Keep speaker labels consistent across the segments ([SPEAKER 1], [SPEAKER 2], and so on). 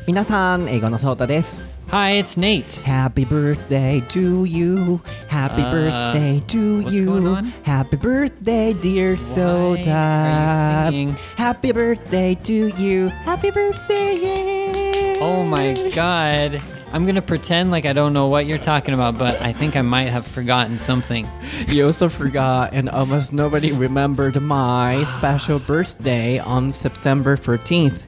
[SPEAKER 1] 皆さん、英語のソータです。
[SPEAKER 2] Hi, it's Nate.
[SPEAKER 1] Happy birthday to you. Happy birthday to
[SPEAKER 2] what's
[SPEAKER 1] you.
[SPEAKER 2] going on?
[SPEAKER 1] Happy birthday, dear
[SPEAKER 2] Why
[SPEAKER 1] Soda.
[SPEAKER 2] are you singing?
[SPEAKER 1] Happy birthday to you. Happy birthday, yay.
[SPEAKER 2] Oh my god. I'm gonna pretend like I don't know what you're talking about, but I think I might have forgotten something.
[SPEAKER 1] You also forgot, and almost nobody remembered my special birthday on September 14th.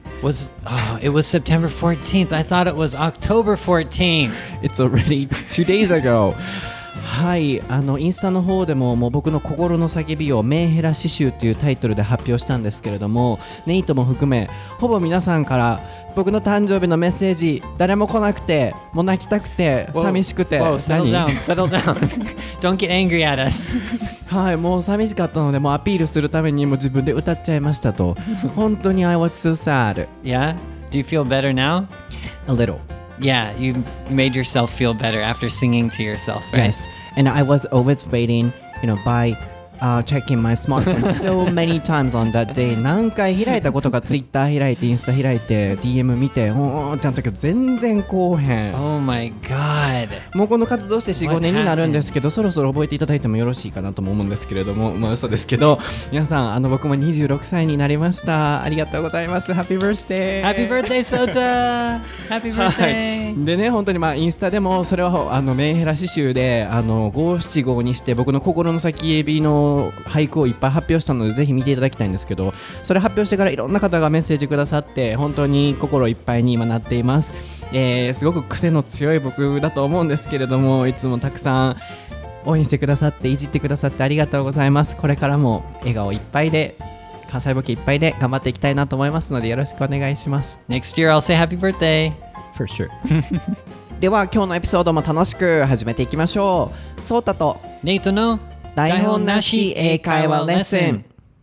[SPEAKER 2] It was September 14th. I thought it was October 14th.
[SPEAKER 1] It's already 2 days ago. はい、インスタの方でも僕の心の叫びをメンヘラ詩集というタイトルで発表したんですけれども、ネイトも含めほぼ皆さんから僕の誕生日のメッセージ誰も来なくて、もう泣きたくて寂しくて、
[SPEAKER 2] settle down. Don't get angry at us.
[SPEAKER 1] はい、もう寂しかったのでもうアピールするためにも自分で歌っちゃいましたと。本当に I was so sad.
[SPEAKER 2] Yeah? Do you feel better now?
[SPEAKER 1] A little.
[SPEAKER 2] Yeah, you made yourself feel better after singing to yourself, right?
[SPEAKER 1] Yes, and I was always waiting, by checking my smartphone so many times on that day. 何回開いたことか、Twitter 開いて、インスタ開いて、DM 見て、おーってなったけど、全然来おへん。
[SPEAKER 2] Oh my god.
[SPEAKER 1] もうこの活動して 4,5 年になるんですけど、そろそろ覚えていただいてもよろしいかなとも思うんですけれども、嘘ですけど、皆さん、僕も26歳になりました。ありがとうございます。Happy birthday!
[SPEAKER 2] Happy birthday, Sota! Happy
[SPEAKER 1] は
[SPEAKER 2] birthday!
[SPEAKER 1] い、でね、本当にインスタでもそれはメンヘラ詩集で五七五にして僕の心の叫びの俳句をいっぱい発表したのでぜひ見ていただきたいんですけど、それ発表してからいろんな方がメッセージくださって本当に心いっぱいに今なっています。すごく癖の強い僕だと思うんですけれども、いつもたくさん応援してくださっていじってくださってありがとうございます。これからも笑顔いっぱいで関西ボケいっぱいで頑張っていきたいなと思いますのでよろしくお願いします。
[SPEAKER 2] Next year I'll say happy birthday.
[SPEAKER 1] For sure. では今日のエピソードも楽しく始めていきましょう。ソータと
[SPEAKER 2] Nate no
[SPEAKER 1] 台本なし英会話レッスン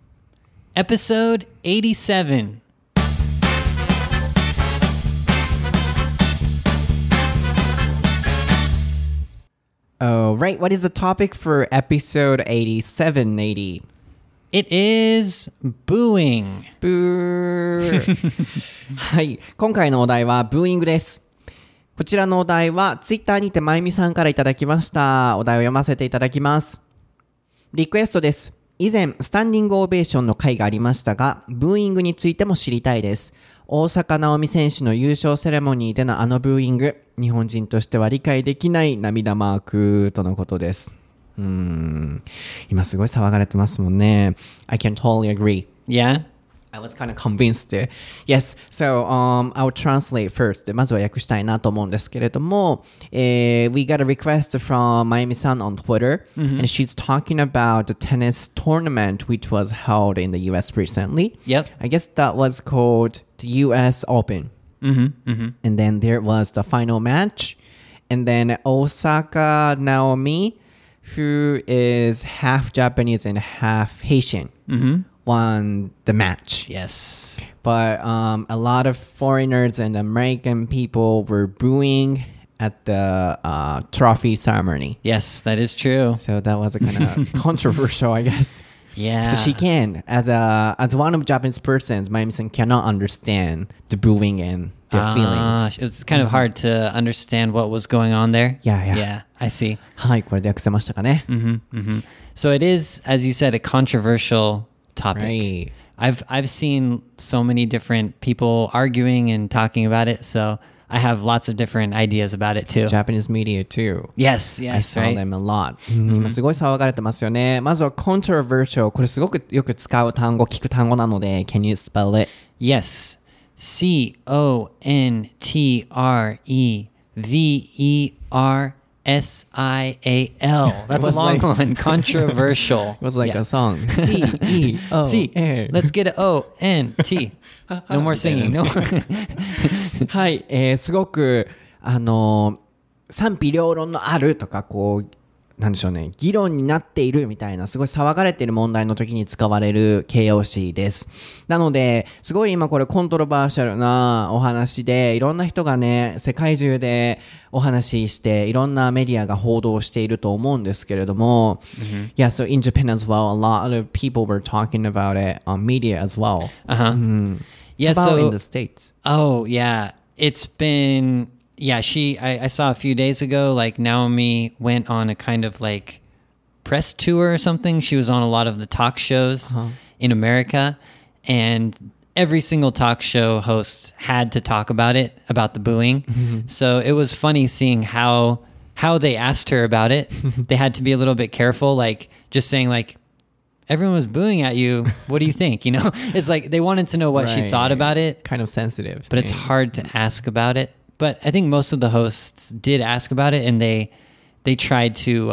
[SPEAKER 2] Episode 87.
[SPEAKER 1] Alright, what is the topic for episode 87, 80?
[SPEAKER 2] It is booing.
[SPEAKER 1] ブーはい、今回のお題はブーイングです。こちらのお題はツイッターにてまゆみさんからいただきました。お題を読ませていただきます。リクエストです。以前スタンディングオベーションの回がありましたが、ブーイングについても知りたいです。大坂なおみ選手の優勝セレモニーでのブーイング、日本人としては理解できない涙マークとのことです。今すごい騒がれてますもんね。I can totally agree.
[SPEAKER 2] Yeah?
[SPEAKER 1] I was kind of convinced. Yes, so I'll translate first. まずは訳したいなと思うんですけれども、we got a request from Mayumi-san on Twitter, and she's talking about the tennis tournament which was held in the US recently.
[SPEAKER 2] Yep.
[SPEAKER 1] I guess that was called the US Open. And then there was the final match, and then Osaka Naomi, who is half Japanese and half Haitian, won the match.
[SPEAKER 2] Yes.
[SPEAKER 1] But a lot of foreigners and American people were booing at the trophy ceremony.
[SPEAKER 2] Yes, that is true.
[SPEAKER 1] So that was a kind of controversial, I guess.
[SPEAKER 2] Yeah.
[SPEAKER 1] So she can, as one of Japanese persons, Mayumi-san cannot understand the booing and their feelings.
[SPEAKER 2] It was kind of hard to understand what was going on there.
[SPEAKER 1] Yeah.
[SPEAKER 2] Yeah, I see.
[SPEAKER 1] はい、これで訳せましたかね。
[SPEAKER 2] So it is, as you said, a controversial topic.
[SPEAKER 1] Right.
[SPEAKER 2] I've seen so many different people arguing and talking about it, so I have lots of different ideas about it too.
[SPEAKER 1] Japanese media too.
[SPEAKER 2] Yes,
[SPEAKER 1] I saw
[SPEAKER 2] right?
[SPEAKER 1] them a lot. 今すごい騒がれてますよね。まずは controversial。これすごくよく使う単語、聞く単語なので、Can you spell it?
[SPEAKER 2] Yes. CONTREVERSIAL. That's a long one. Controversial.
[SPEAKER 1] It was like a song.
[SPEAKER 2] C.
[SPEAKER 1] C-E-O-A.
[SPEAKER 2] Let's get it. O-N-T. No more singing. No more.
[SPEAKER 1] はい、すごく賛否両論のあるとかこうなんでしょうね、議論になっているみたいなすごい騒がれている問題の時に使われる形容詞です。なのですごい今これコントロバーシャルなお話でいろんな人がね世界中でお話ししていろんなメディアが報道していると思うんですけれども、Yeah, so in Japan as well, a lot of people were talking about it on media as well.
[SPEAKER 2] Yeah,
[SPEAKER 1] How about
[SPEAKER 2] so
[SPEAKER 1] in the States?
[SPEAKER 2] Oh, yeah. It's been, yeah, I saw a few days ago, like Naomi went on a kind of like press tour or something. She was on a lot of the talk shows in America, and every single talk show host had to talk about it, about the booing. So it was funny seeing how they asked her about it. They had to be a little bit careful, like just saying like, everyone was booing at you. What do you think? You know, it's like they wanted to know what she thought about it.
[SPEAKER 1] Kind of sensitive.
[SPEAKER 2] But it's hard to ask about it. But I think most of the hosts did ask about it, and they tried to,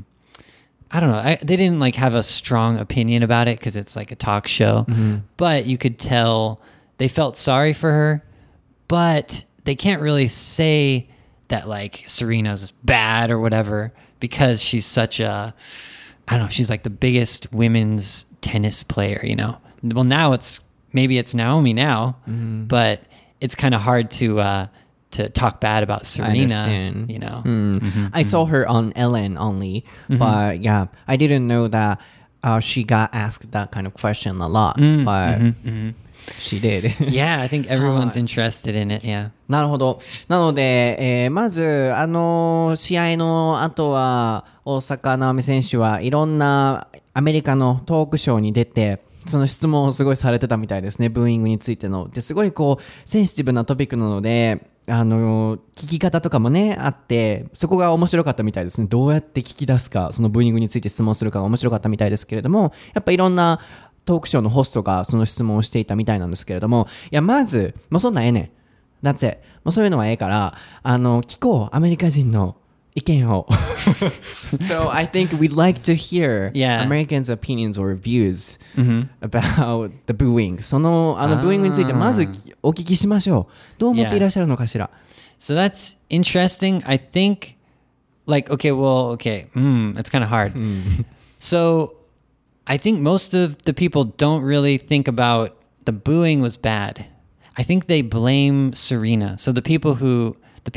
[SPEAKER 2] I don't know, they didn't like have a strong opinion about it because it's like a talk show. But you could tell they felt sorry for her, but they can't really say that like Serena's bad or whatever because she's such a, I don't know, she's like the biggest women's tennis player, you know. Well, now maybe it's Naomi now, but it's kind of hard to talk bad about Serena, you know.
[SPEAKER 1] I saw her on Ellen only, but yeah, I didn't know that she got asked that kind of question a lot, but she did.
[SPEAKER 2] Yeah, I think everyone's interested in it, yeah.
[SPEAKER 1] なるほど。なので、まず、試合の後は、大坂なおみ選手はいろんなアメリカのトークショーに出て、その質問をすごいされてたみたいですね、ブーイングについての。ですごいこう、センシティブなトピックなので、聞き方とかもね、あって、そこが面白かったみたいですね。どうやって聞き出すか、そのブーイングについて質問するかが面白かったみたいですけれども、やっぱいろんなトークショーのホストがその質問をしていたみたいなんですけれども、いや、まず、もうそんなんええねん。That's it. もうそういうのはええから、聞こう、アメリカ人の意見を。So I think we'd like to hear Americans' opinions or views about the booing. その、ブーイングについてまずお聞きしましょう。どう思っていらっしゃるのかしら。
[SPEAKER 2] So that's interesting. I think, like, it's kind of hard. So I think most of the people don't really think about the booing was bad. I think they blame Serena. So the people who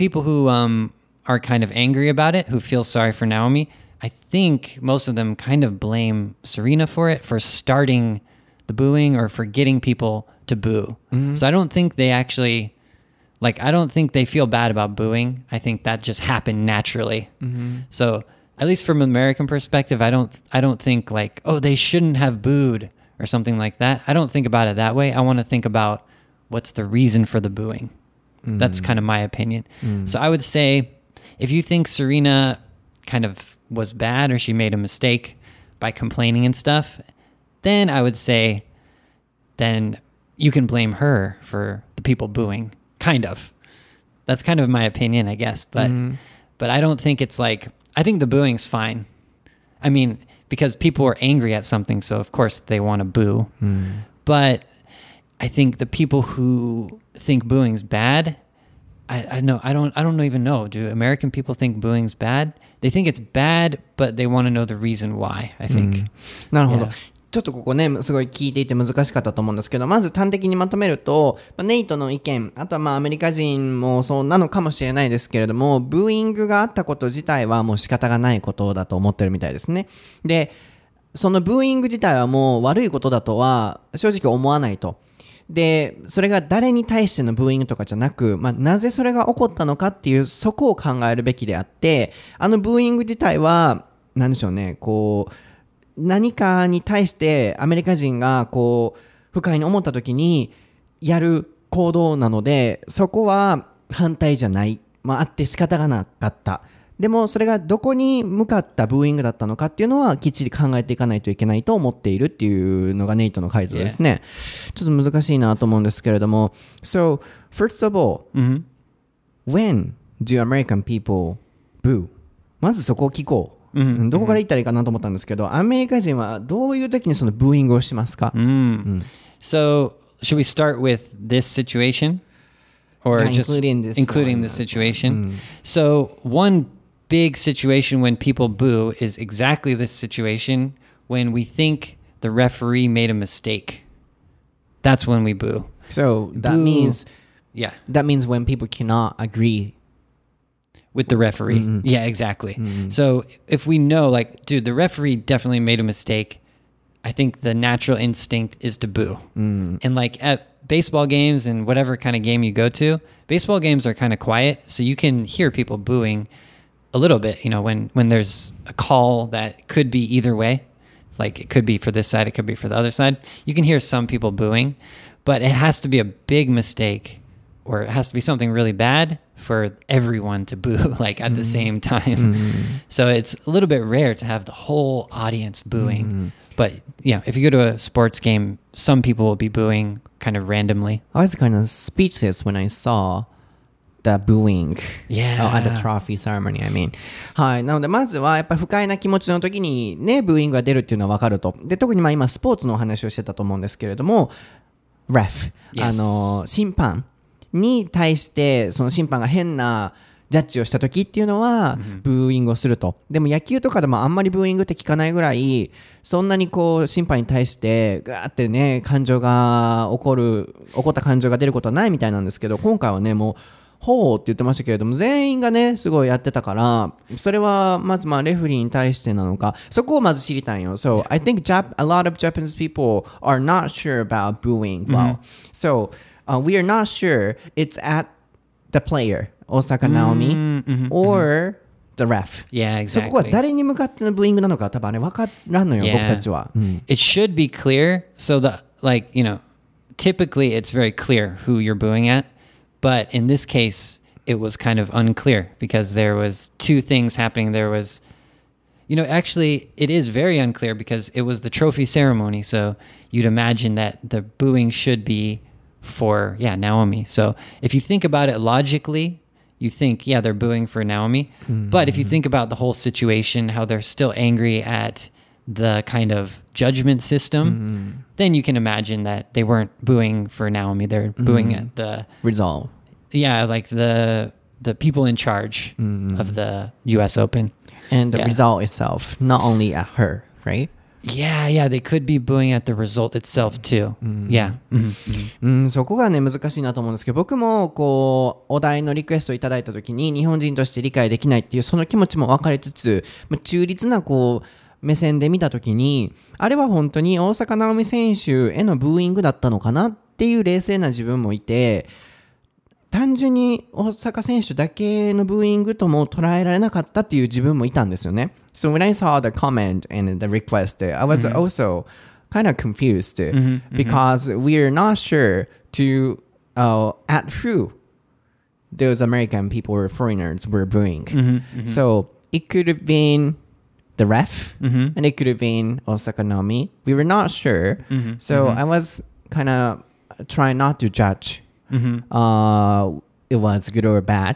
[SPEAKER 2] are kind of angry about it, who feel sorry for Naomi, I think most of them kind of blame Serena for it, for starting the booing or for getting people to boo. So I don't think they actually, I don't think they feel bad about booing. I think that just happened naturally. So at least from an American perspective, I don't think like, oh, they shouldn't have booed or something like that. I don't think about it that way. I want to think about what's the reason for the booing. That's kind of my opinion. So I would say, if you think Serena kind of was bad or she made a mistake by complaining and stuff, then I would say, then you can blame her for the people booing. Kind of. That's kind of my opinion, I guess. But I don't think it's like, I think the booing's fine. I mean, because people are angry at something, so of course they want to boo. But I think the people who think booing's bad, I don't even know. Do American people think booing's bad? They think it's bad, but they want to know the reason why, I think.
[SPEAKER 1] なるほど。ちょっとここね、すごい聞いていて難しかったと思うんですけど、まず端的にまとめると、ネイトの意見、あとはアメリカ人もそうなのかもしれないですけれども、ブーイングがあったこと自体はもう仕方がないことだと思ってるみたいですね。で、そのブーイング自体はもう悪いことだとは正直思わないと。で、それが誰に対してのブーイングとかじゃなく、なぜそれが起こったのかっていう、そこを考えるべきであって、ブーイング自体は、なんでしょうね、こう、何かに対してアメリカ人がこう不快に思った時にやる行動なので、そこは反対じゃない、あって仕方がなかった。でもそれがどこに向かったブーイングだったのかっていうのはきっちり考えていかないといけないと思っているっていうのがネイトの回答ですね。ちょっと難しいなと思うんですけれども。So, first of all, when do American people boo? まずそこを聞こう。どこから言ったらいいかなと思ったんですけど、アメリカ人はどういう時にそのブーイングをしますか？
[SPEAKER 2] So, should we start with this situation? Or just including this situation? So, one big situation when people boo is exactly this situation when we think the referee made a mistake. That's when we boo.
[SPEAKER 1] So, that means when people cannot agree
[SPEAKER 2] with the referee. Yeah, exactly. So if we know, like, dude, the referee definitely made a mistake, I think the natural instinct is to boo. And like at baseball games and whatever kind of game you go to, baseball games are kind of quiet, so you can hear people booing a little bit, when there's a call that could be either way. It's like it could be for this side, it could be for the other side. You can hear some people booing, but it has to be a big mistake or it has to be something really bad for everyone to boo like at the same time. So it's a little bit rare to have the whole audience booing. But yeah, if you go to a sports game, some people will be booing kind of randomly.
[SPEAKER 1] I was kind of speechless when I saw the booing
[SPEAKER 2] Yeah.
[SPEAKER 1] at the trophy ceremony, I mean. はい。なので、まずはやっぱり不快な気持ちの時にね、ブーイングが出るっていうのは分かると。で、特に今スポーツのお話をしてたと思うんですけれども、ref、
[SPEAKER 2] Yes.
[SPEAKER 1] 審判に対してその審判が変なジャッジをした時っていうのはブーイングをすると。でも野球とかでもあんまりブーイングって聞かないぐらいそんなに審判に対してガーってね起こった感情が出ることはないみたいなんですけど、今回はねもうほうって言ってましたけれども、全員がねすごいやってたから、それはまずレフェリーに対してなのか、そこをまず知りたいよ。So I think a lot of Japanese people are not sure about booing well. So、we are not sure it's at the player, Osaka Naomi, or the ref.
[SPEAKER 2] Yeah, exactly.
[SPEAKER 1] そこは誰に向かってのブーイングなのか多分あれ分からんのよ、僕たちは。
[SPEAKER 2] It should be clear. So typically it's very clear who you're booing at. But in this case, it was kind of unclear because there was two things happening. There was, actually, it is very unclear because it was the trophy ceremony. So you'd imagine that the booing should be for, Naomi. So if you think about it logically, you think, they're booing for Naomi. But if you think about the whole situation, how they're still angry at the kind of judgment system, then you can imagine that they weren't booing for Naomi. They're booing at the
[SPEAKER 1] result.
[SPEAKER 2] Yeah, like the people in charge of the U.S. Open.
[SPEAKER 1] And the result itself, not only at her, right?
[SPEAKER 2] Yeah, they could be booing at the result itself too. Yeah.
[SPEAKER 1] そこがね難しいなと思うんですけど、僕もお題のリクエストをいただいた時に日本人として理解できないっていうその気持ちも分かりつつ、中立な目線で見たときに、あれは本当に大坂なおみ選手へのブーイングだったのかなっていう冷静な自分もいて、単純に大坂選手だけのブーイングとも捉えられなかったっていう自分もいたんですよね。So when I saw the comment and the request, I was also kind of confused because we're not sure at who those American people or foreigners were booing. So it could have been the ref, and it could have been Osaka Naomi. We were not sure. So I was kind of trying not to judge it was good or bad.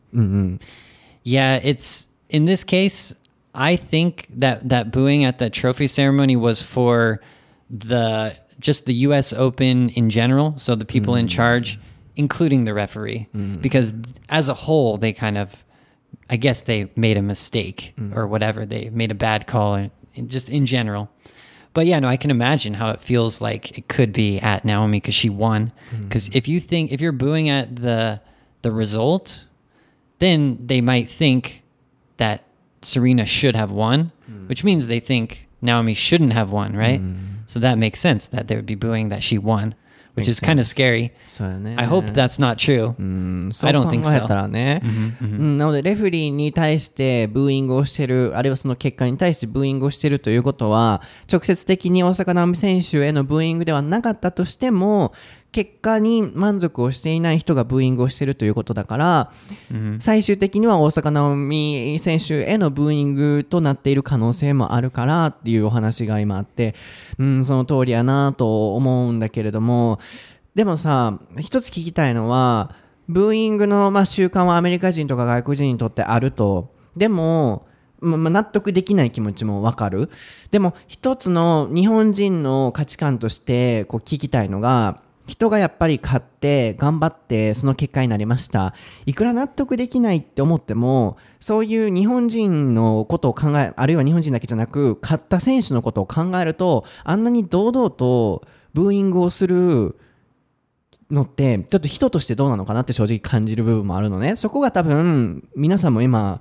[SPEAKER 2] Yeah, it's in this case, I think that booing at the trophy ceremony was for just the US Open in general, so the people in charge, including the referee, because as a whole, they kind of, I guess they made a mistake or whatever. They made a bad call just in general. But I can imagine how it feels like it could be at Naomi because she won. Because if you're booing at the result, then they might think that Serena should have won, which means they think Naomi shouldn't have won, right? So that makes sense that they would be booing that she won, which is kind of scary. I hope that's not true. I don't think so.
[SPEAKER 1] そう考えたらね。なのでレフェリーに対してブーイングをしてる、あるいはその結果に対してブーイングをしてるということは、直接的に大坂なおみ選手へのブーイングではなかったとしても、結果に満足をしていない人がブーイングをしているということだから、最終的には大坂なおみ選手へのブーイングとなっている可能性もあるからっていうお話が今あって、その通りやなと思うんだけれども、でもさ、一つ聞きたいのは、ブーイングの習慣はアメリカ人とか外国人にとってあると。でも、納得できない気持ちもわかる。でも一つの日本人の価値観として聞きたいのが、人がやっぱり勝って頑張ってその結果になりました。いくら納得できないって思っても、そういう日本人のことを考え、あるいは日本人だけじゃなく勝った選手のことを考えると、あんなに堂々とブーイングをするのってちょっと人としてどうなのかなって正直感じる部分もあるのね。そこが多分皆さんも今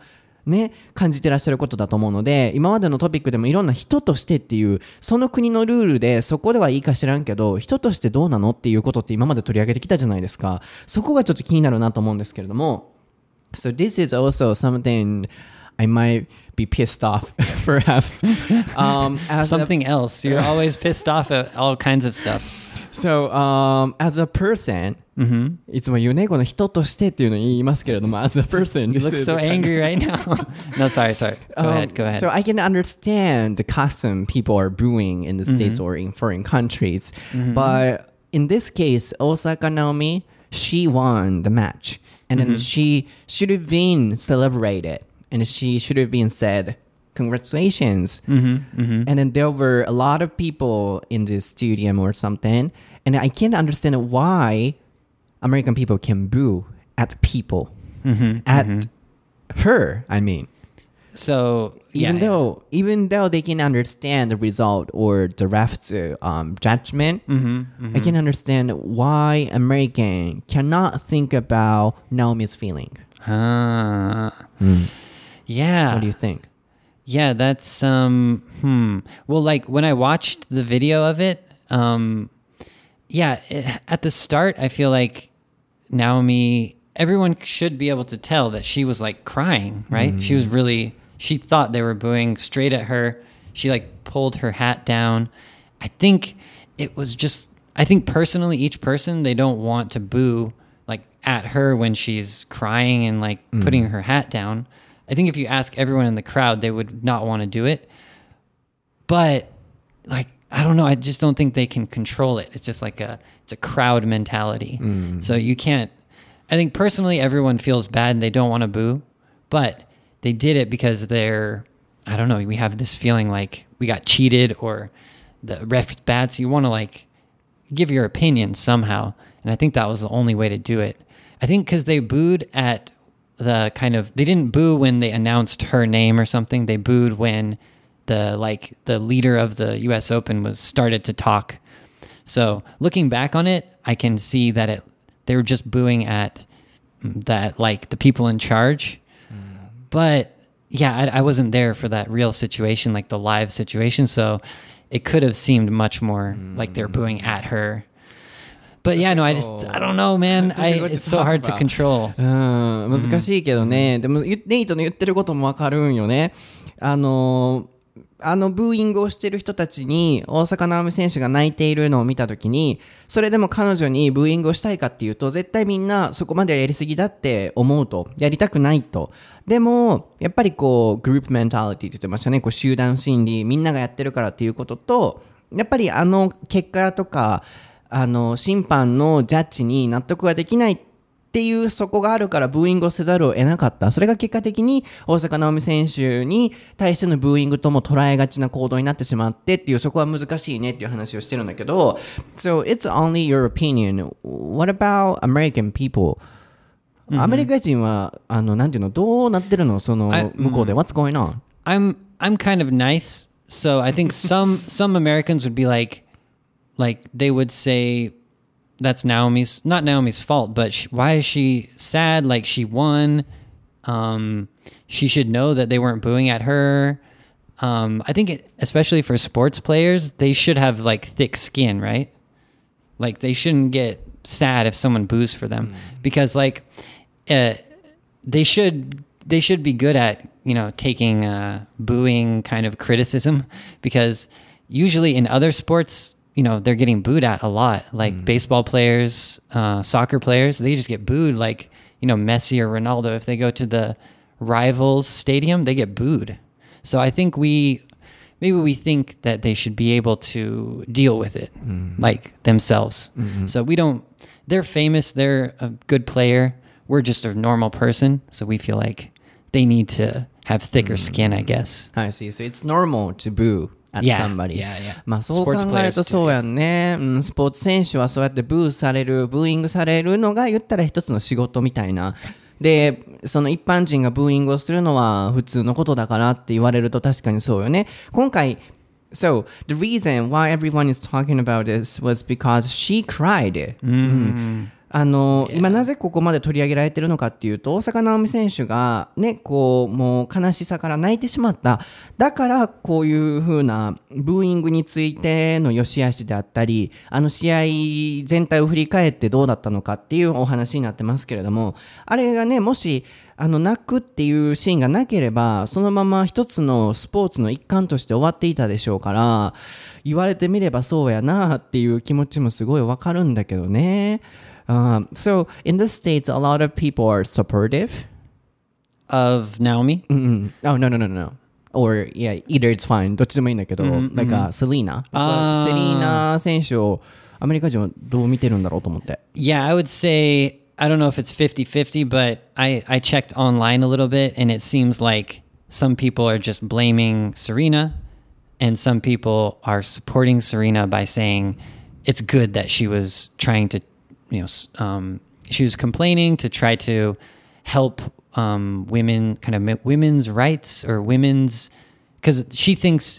[SPEAKER 1] ね、感じてらっしゃることだと思うので、今までのトピックでもいろんな人としてっていう、その国のルールでそこではいいか知らんけど、人としてどうなのっていうことって今まで取り上げてきたじゃないですか。そこがちょっと気になるなと思うんですけれども。So this is also something I might be pissed off, perhaps.
[SPEAKER 2] Something else. You're always pissed off at all kinds of stuff.
[SPEAKER 1] So, as a person, いつも言うね、この人としてっていうのを言いますけれども、as a person,
[SPEAKER 2] You look so angry right now. No, sorry. Go ahead.
[SPEAKER 1] So I can understand the custom people are brewing in the States or in foreign countries. But in this case, Osaka Naomi, she won the match. And then she should have been celebrated. And she should have been said, congratulations. And then there were a lot of people in the stadium or something. And I can't understand why American people can boo at people. At her, I mean.
[SPEAKER 2] So,
[SPEAKER 1] Even though they can understand the result or the ref's judgment, I can understand why American cannot think about Naomi's feeling.
[SPEAKER 2] Yeah.
[SPEAKER 1] What do you think?
[SPEAKER 2] Yeah, that's well, like when I watched the video of it, at the start I feel like Naomi, everyone should be able to tell that she was like crying, right? She thought they were booing straight at her. She like pulled her hat down. I think personally each person, they don't want to boo like at her when she's crying and like putting her hat down. I think if you ask everyone in the crowd, they would not want to do it. But like, I don't know. I just don't think they can control it. It's just like it's a crowd mentality. So you can't, I think personally everyone feels bad and they don't want to boo, but they did it because I don't know, we have this feeling like we got cheated or the ref's bad. So you want to like give your opinion somehow. And I think that was the only way to do it. I think because they booed at they didn't boo when they announced her name or something. They booed when the leader of the US Open started to talk. So looking back on it, I can see that they were just booing at that, like the people in charge. But yeah, I wasn't there for that real situation, like the live situation. So it could have seemed much more like they're booing at her. But yeah, no, I don't know, man. It's so hard to control.
[SPEAKER 1] 難しいけどね。でも、ネイトの言ってることもわかるんよね。ブーイングをしてる人たちに大坂なおみ選手が泣いているのを見たときに、それでも彼女にブーイングをしたいかっていうと、絶対みんなそこまではやりすぎだって思うと、やりたくないと。でもやっぱりこうグループメンタリティって言ってましたね。こう集団心理、みんながやってるからっていうことと、やっぱり結果とか審判のジャッジに納得ができないっていうそこがあるからブーイングをせざるを得なかった。それが結果的に大坂なおみ選手に対してのブーイングとも捉えがちな行動になってしまってっていう、そこは難しいねっていう話をしてるんだけど、 So it's only your opinion. What about American people? アメリカ人はなんていうの、どうなってるの、その向こうで。What's going on?
[SPEAKER 2] I'm kind of nice, so I think some Americans would be like they would say that's not Naomi's fault, but why is she sad? Like she won. She should know that they weren't booing at her. I think especially for sports players, they should have like thick skin, right? Like they shouldn't get sad if someone boos for them because like they should be good at, you know, taking booing kind of criticism, because usually in other sports, you know, they're getting booed at a lot. Like baseball players, soccer players, they just get booed. Like, you know, Messi or Ronaldo, if they go to the rivals stadium, they get booed. So I think maybe we think that they should be able to deal with it, like themselves. So they're famous, they're a good player. We're just a normal person. So we feel like they need to have thicker skin, I guess.
[SPEAKER 1] I see. So it's normal to boo at somebody.
[SPEAKER 2] Yeah.
[SPEAKER 1] まあそう考えるとそうやんね。スポーツ選手はそうやってブーイングされるのが言ったら一つの仕事みたいな。で、その一般人がブーイングをするのは普通のことだからって言われると確かにそうよね。今回、So the reason why everyone is talking about this was because she cried. 今なぜここまで取り上げられてるのかっていうと、大坂なおみ選手がね、こう、もう悲しさから泣いてしまった。だから、こういう風なブーイングについての良し悪しであったり、試合全体を振り返ってどうだったのかっていうお話になってますけれども、あれがね、もし、泣くっていうシーンがなければ、そのまま一つのスポーツの一環として終わっていたでしょうから、言われてみればそうやなっていう気持ちもすごいわかるんだけどね。So in the States, a lot of people are supportive
[SPEAKER 2] of Naomi.
[SPEAKER 1] Oh, no. Or, yeah, either it's fine. どっちでもいいんだけど、like Selena. セリーナ選手をアメリカ人はどう見てるんだろうと思って。
[SPEAKER 2] Yeah, I would say, I don't know if it's 50-50, but I checked online a little bit, and it seems like some people are just blaming Serena, and some people are supporting Serena by saying it's good that she was trying to, she was complaining to try to help women, kind of women's rights or women's, because she thinks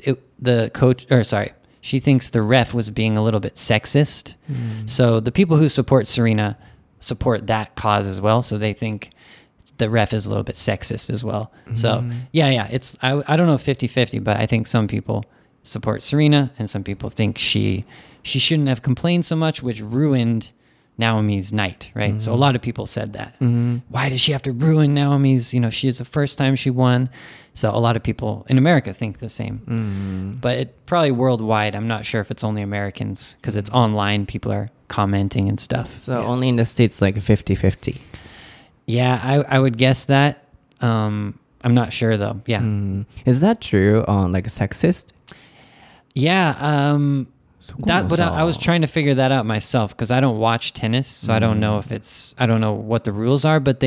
[SPEAKER 2] she thinks the ref was being a little bit sexist. So the people who support Serena support that cause as well. So they think the ref is a little bit sexist as well. So yeah, it's, I don't know 50-50, but I think some people support Serena and some people think she shouldn't have complained so much, which ruined Naomi's night, right? So a lot of people said that. Why does she have to ruin Naomi's, she is the first time she won. So a lot of people in America think the same. But it probably worldwide, I'm not sure if it's only Americans because it's online, people are commenting and stuff.
[SPEAKER 1] So only in the States like 50-50.
[SPEAKER 2] Yeah, I would guess that. I'm not sure though. Yeah.
[SPEAKER 1] Is that true on like sexist?
[SPEAKER 2] Yeah, but I was trying to figure that out myself because I don't watch tennis, so I don't know if I don't know what the rules are, but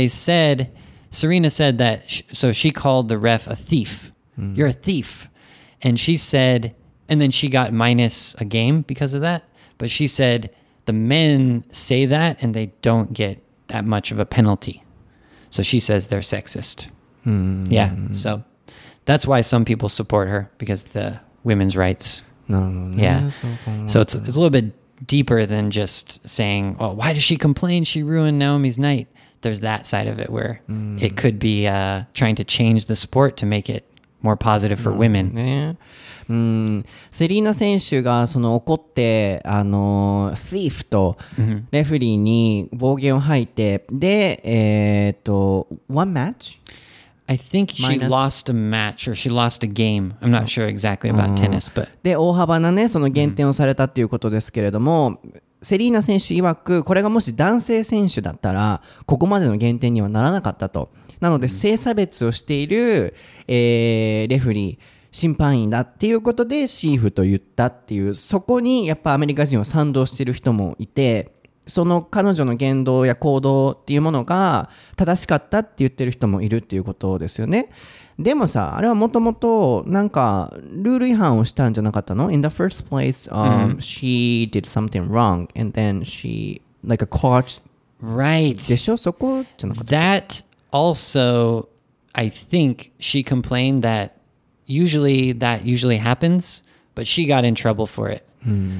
[SPEAKER 2] Serena said that, so she called the ref a thief. You're a thief. And she said, and then she got minus a game because of that, but she said the men say that and they don't get that much of a penalty. So she says they're sexist. Yeah, so that's why some people support her because the women's rights. Yeah. So it's a little bit deeper than just saying, oh, why does she complain? She ruined Naomi's night. There's that side of it where it could be trying to change the sport to make it more positive for women.
[SPEAKER 1] セリーナ選手が怒ってthief とレフェリーに暴言を吐いて、でone match?
[SPEAKER 2] I think she lost a match or she lost a game. I'm not sure exactly about tennis, but
[SPEAKER 1] で大幅なねその減点をされたっていうことですけれども、セリーナ選手曰くこれがもし男性選手だったらここまでの減点にはならなかったと。なので性差別をしている、レフェリー審判員だっていうことでシーフと言ったっていう、そこにやっぱアメリカ人は賛同している人もいて、その彼女の言動や行動っていうものが正しかったって言ってる人もいるっていうことですよね。でもさ、あれはもともとなんかルール違反をしたんじゃなかったの？ In the first place, she did something wrong and then she like a caught.
[SPEAKER 2] Right.
[SPEAKER 1] でしょ？そこじゃなかった。
[SPEAKER 2] That also, I think she complained that usually happens, but she got in trouble for it.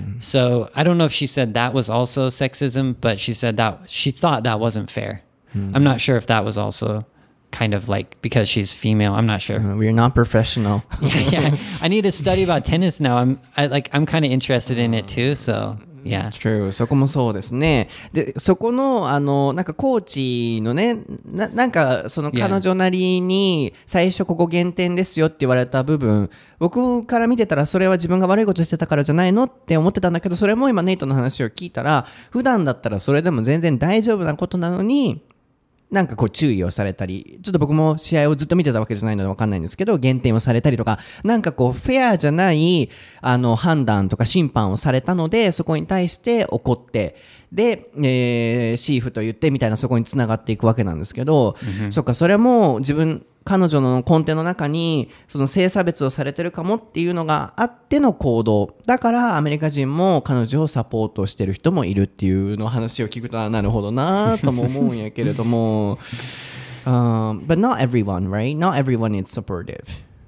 [SPEAKER 2] So I don't know if she said that was also sexism, but she said that she thought that wasn't fair. I'm not sure if that was also kind of like because she's female. I'm not sure.
[SPEAKER 1] We're not professional.
[SPEAKER 2] Yeah, I need to study about tennis now. I'm kind of interested in it too. So yeah.
[SPEAKER 1] True. そこもそうですね。で、そこのなんかコーチのね、なんかその彼女なりに最初ここ減点ですよって言われた部分、僕から見てたらそれは自分が悪いことしてたからじゃないのって思ってたんだけど、それも今ネイトの話を聞いたら、普段だったらそれでも全然大丈夫なことなのに。なんかこう注意をされたり、ちょっと僕も試合をずっと見てたわけじゃないので分かんないんですけど、減点をされたりとか、なんかこうフェアじゃない判断とか審判をされたので、そこに対して怒って、で、シーフと言ってみたいなそこに繋がっていくわけなんですけど、そっか、それも彼女の根底の中にその性差別をされてるかもっていうのがあっての行動だからアメリカ人も彼女をサポートしてる人もいるっていうの話を聞くとなるほどなとも思うんやけれどもBut not everyone, right? Not everyone is supportive.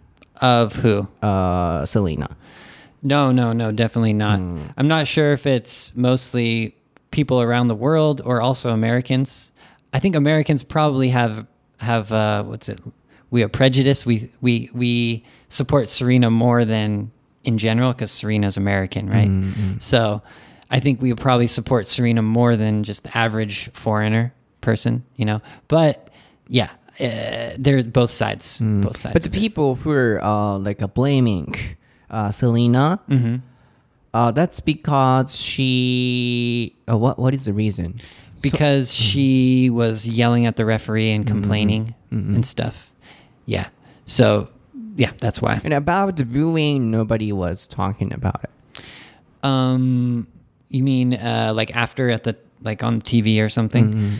[SPEAKER 2] Of who?
[SPEAKER 1] Selena.
[SPEAKER 2] No, definitely not. I'm not sure if it's mostly people around the world or also Americans. I think Americans probably have what's it? We have prejudice. We support Serena more than in general because Serena's American, right? So I think we would probably support Serena more than just the average foreigner person, you know. But yeah, there's both sides. Both sides.
[SPEAKER 1] But the people who are blaming Selena, that's because she. What is the reason?
[SPEAKER 2] Because she was yelling at the referee and complaining and stuff. Yeah. So, yeah, that's why.
[SPEAKER 1] And about the booing, nobody was talking about it.
[SPEAKER 2] You mean like after at the on TV or something?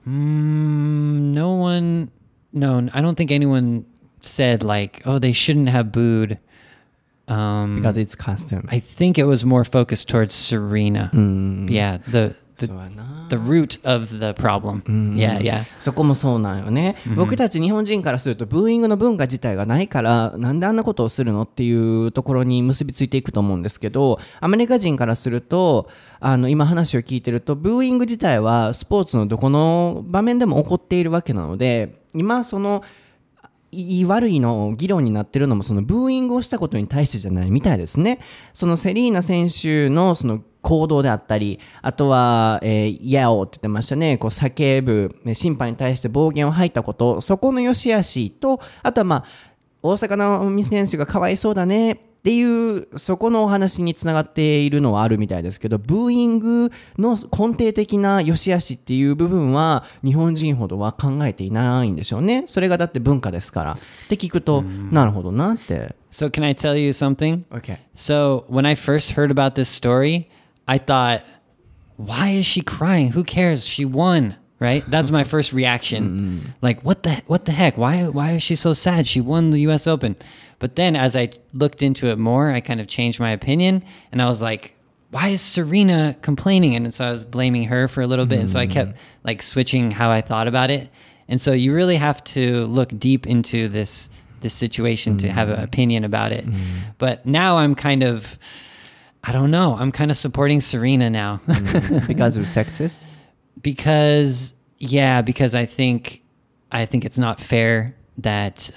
[SPEAKER 2] No one. No, I don't think anyone said like, oh, they shouldn't have booed.
[SPEAKER 1] Because it's custom.
[SPEAKER 2] I think it was more focused towards Serena. Yeah, the root of the problem. Yeah, yeah.
[SPEAKER 1] そこもそうなんよね。僕たち日本人からするとブーイングの文化自体がないからなんであんなことをするのっていうところに結びついていくと思うんですけど、アメリカ人からすると今話を聞いてるとブーイング自体はスポーツのどこの場面でも起こっているわけなので、今そのいい悪いの議論になってるのもそのブーイングをしたことに対してじゃないみたいですね。そのセリーナ選手のその行動であったり、あとはやおって言ってましたね。こう叫ぶ審判に対して暴言を吐いたこと、そこの良し悪しと、あとは大坂なおみ選手がかわいそうだねっていうそこのお話につながっているのはあるみたいですけど、ブーイングの根底的な良し悪しっていう部分は日本人ほどは考えていないんでしょうね。それがだって文化ですからって聞くと、なるほどなって。
[SPEAKER 2] So can I tell you something?
[SPEAKER 1] Okay.
[SPEAKER 2] So when I first heard about this story, I thought, why is she crying? Who cares? She won. Right? That's my first reaction. Like, what the heck? Why is she so sad? She won the US Open. But then as I looked into it more, I kind of changed my opinion and I was like, why is Serena complaining? And so I was blaming her for a little bit. And so I kept like switching how I thought about it. And so you really have to look deep into this situation to have an opinion about it. But now I'm kind of, I don't know, I'm kind of supporting Serena now.
[SPEAKER 1] Because of sexist?
[SPEAKER 2] Because I think it's not fair that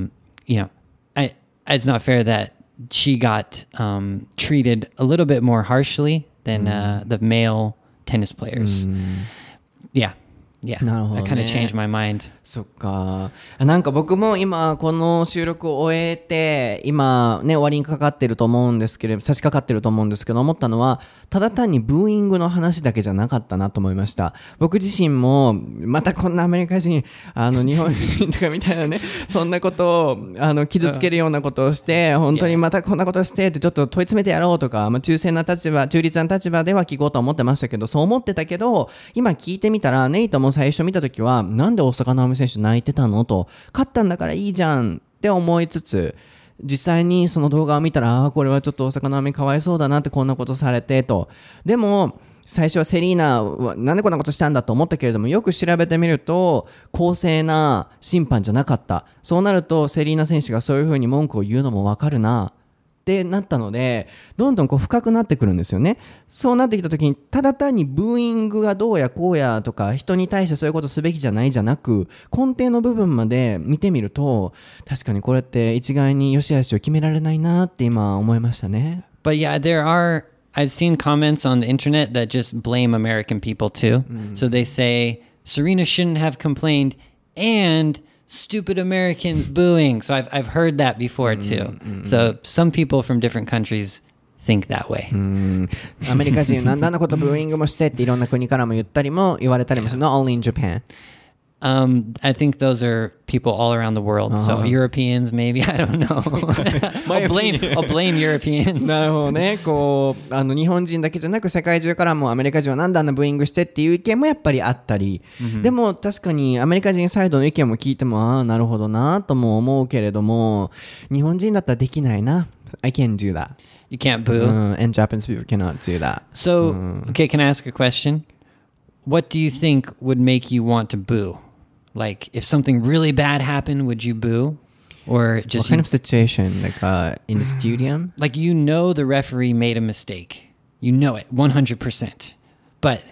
[SPEAKER 2] it's not fair that she got treated a little bit more harshly than the male tennis players. Yeah.
[SPEAKER 1] なるほどね。
[SPEAKER 2] I kind of changed my mind.
[SPEAKER 1] そっか。なんか僕も今この収録を終えて今ね終わりにかかってると思うんですけれど差し掛かってると思うんですけど思ったのはただ単にブーイングの話だけじゃなかったなと思いました。僕自身もまたこんなアメリカ人日本人とかみたいなねそんなことを傷つけるようなことをして本当にまたこんなことをしてってちょっと問い詰めてやろうとか、中立な立場では聞こうと思ってましたけどそう思ってたけど今聞いてみたらネイトも最初見たときはなんで大坂なおみ選手泣いてたのと勝ったんだからいいじゃんって思いつつ実際にその動画を見たらこれはちょっと大坂なおみかわいそうだなってこんなことされてとでも最初はセリーナはなんでこんなことしたんだと思ったけれどもよく調べてみると公正な審判じゃなかったそうなるとセリーナ選手がそういうふうに文句を言うのもわかるなってなったのでどんどんこう深くなってくるんですよね。そうなってきた時にただ単にブーイングがどうやこうやとか人に対してそういうことすべきじゃないじゃなく根底の部分まで見てみると確かにこれって一概に良し悪しを決められないなって今思いましたね。
[SPEAKER 2] But yeah, I've seen comments on the internet that just blame American people too. So they say Serena shouldn't have complained and stupid Americans booing. So I've heard that before too. So some people from different countries think that way.
[SPEAKER 1] アメリカ人なんであんなことブーイングもしてっていろんな国からも言われたりもする。Not only in Japan.
[SPEAKER 2] I think those are people all around the world. So Europeans, maybe, I don't know. I'll blame Europeans.
[SPEAKER 1] なるほどね。こう日本人だけじゃなく世界中からもアメリカ人はなんであんなブーイングしてっていう意見もやっぱりあったり、でも確かにアメリカ人サイドの意見も聞いてもなるほどなとも思うけれども日本人だったらできないな。I can't do that.
[SPEAKER 2] You can't boo.
[SPEAKER 1] And Japanese people cannot do that.
[SPEAKER 2] So, okay, can I ask a question? What do you think would make you want to boo? Like, if something really bad happened, would you boo? Or just...
[SPEAKER 1] What kind of situation? Like in the stadium?
[SPEAKER 2] Like, the referee made a mistake. You know it, 100%. But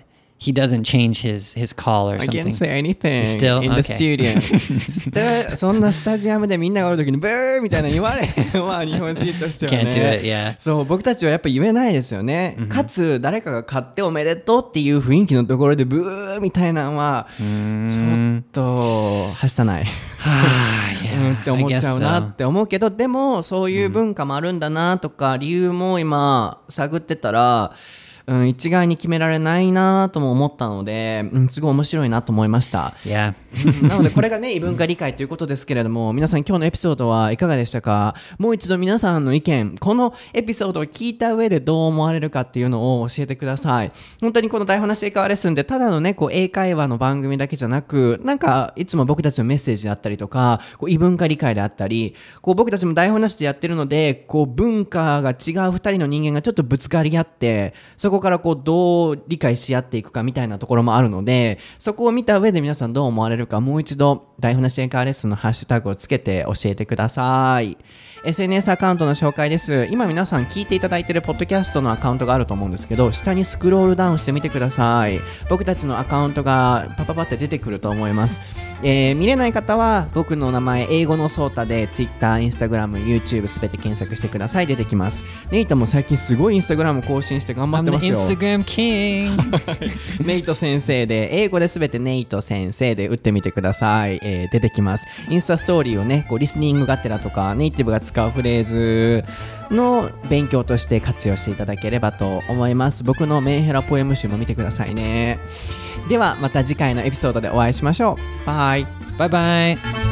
[SPEAKER 2] he doesn't change his call or
[SPEAKER 1] I
[SPEAKER 2] something.
[SPEAKER 1] can't say anything
[SPEAKER 2] Still?
[SPEAKER 1] in the
[SPEAKER 2] Okay.
[SPEAKER 1] studio そんなスタジアムでみんながおるときにブーみたいな言われへんわ日本人としては
[SPEAKER 2] Can't do
[SPEAKER 1] ね
[SPEAKER 2] it, yeah.
[SPEAKER 1] そう僕たちはやっぱ言えないですよね、かつ誰かが勝っておめでとうっていう雰囲気のところでブーみたいなのはちょっとはしたない
[SPEAKER 2] yeah,
[SPEAKER 1] って思っちゃうなって思うけど、でもそういう文化もあるんだなとか、理由も今探ってたら、一概に決められないなとも思ったので、すごい面白いなと思いました。
[SPEAKER 2] Yeah.
[SPEAKER 1] なのでこれがね異文化理解ということですけれども、皆さん今日のエピソードはいかがでしたか？もう一度皆さんの意見、このエピソードを聞いた上でどう思われるかっていうのを教えてください。本当にこの台本なし英会話レッスンでただのねこう英会話の番組だけじゃなく、なんかいつも僕たちのメッセージであったりとか、こう異文化理解であったり、こう僕たちも台本なしでやってるので、こう文化が違う2人の人間がちょっとぶつかり合って、そこからこうどう理解し合っていくかみたいなところもあるので、そこを見た上で皆さんどう思われるか、もう一度台本なし英会話レッスンのハッシュタグをつけて教えてください。 SNS アカウントの紹介です。今皆さん聞いていただいているポッドキャストのアカウントがあると思うんですけど、下にスクロールダウンしてみてください。僕たちのアカウントがパパパって出てくると思います。見れない方は僕の名前英語のソータで Twitter、Instagram、YouTube すべて検索してください。出てきます。ネイトも最近すごい Instagram 更新して頑張っ
[SPEAKER 2] I'm
[SPEAKER 1] てま
[SPEAKER 2] the
[SPEAKER 1] すよ。
[SPEAKER 2] Instagram king.
[SPEAKER 1] ネイト先生で、英語ですべてネイト先生で打ってみてください。出てきます。インスタストーリーをねこうリスニングがてらとかネイティブが使うフレーズの勉強として活用していただければと思います。僕のメンヘラポエム集も見てくださいね。ではまた次回のエピソードでお会いしましょう。バイ。
[SPEAKER 2] Bye bye.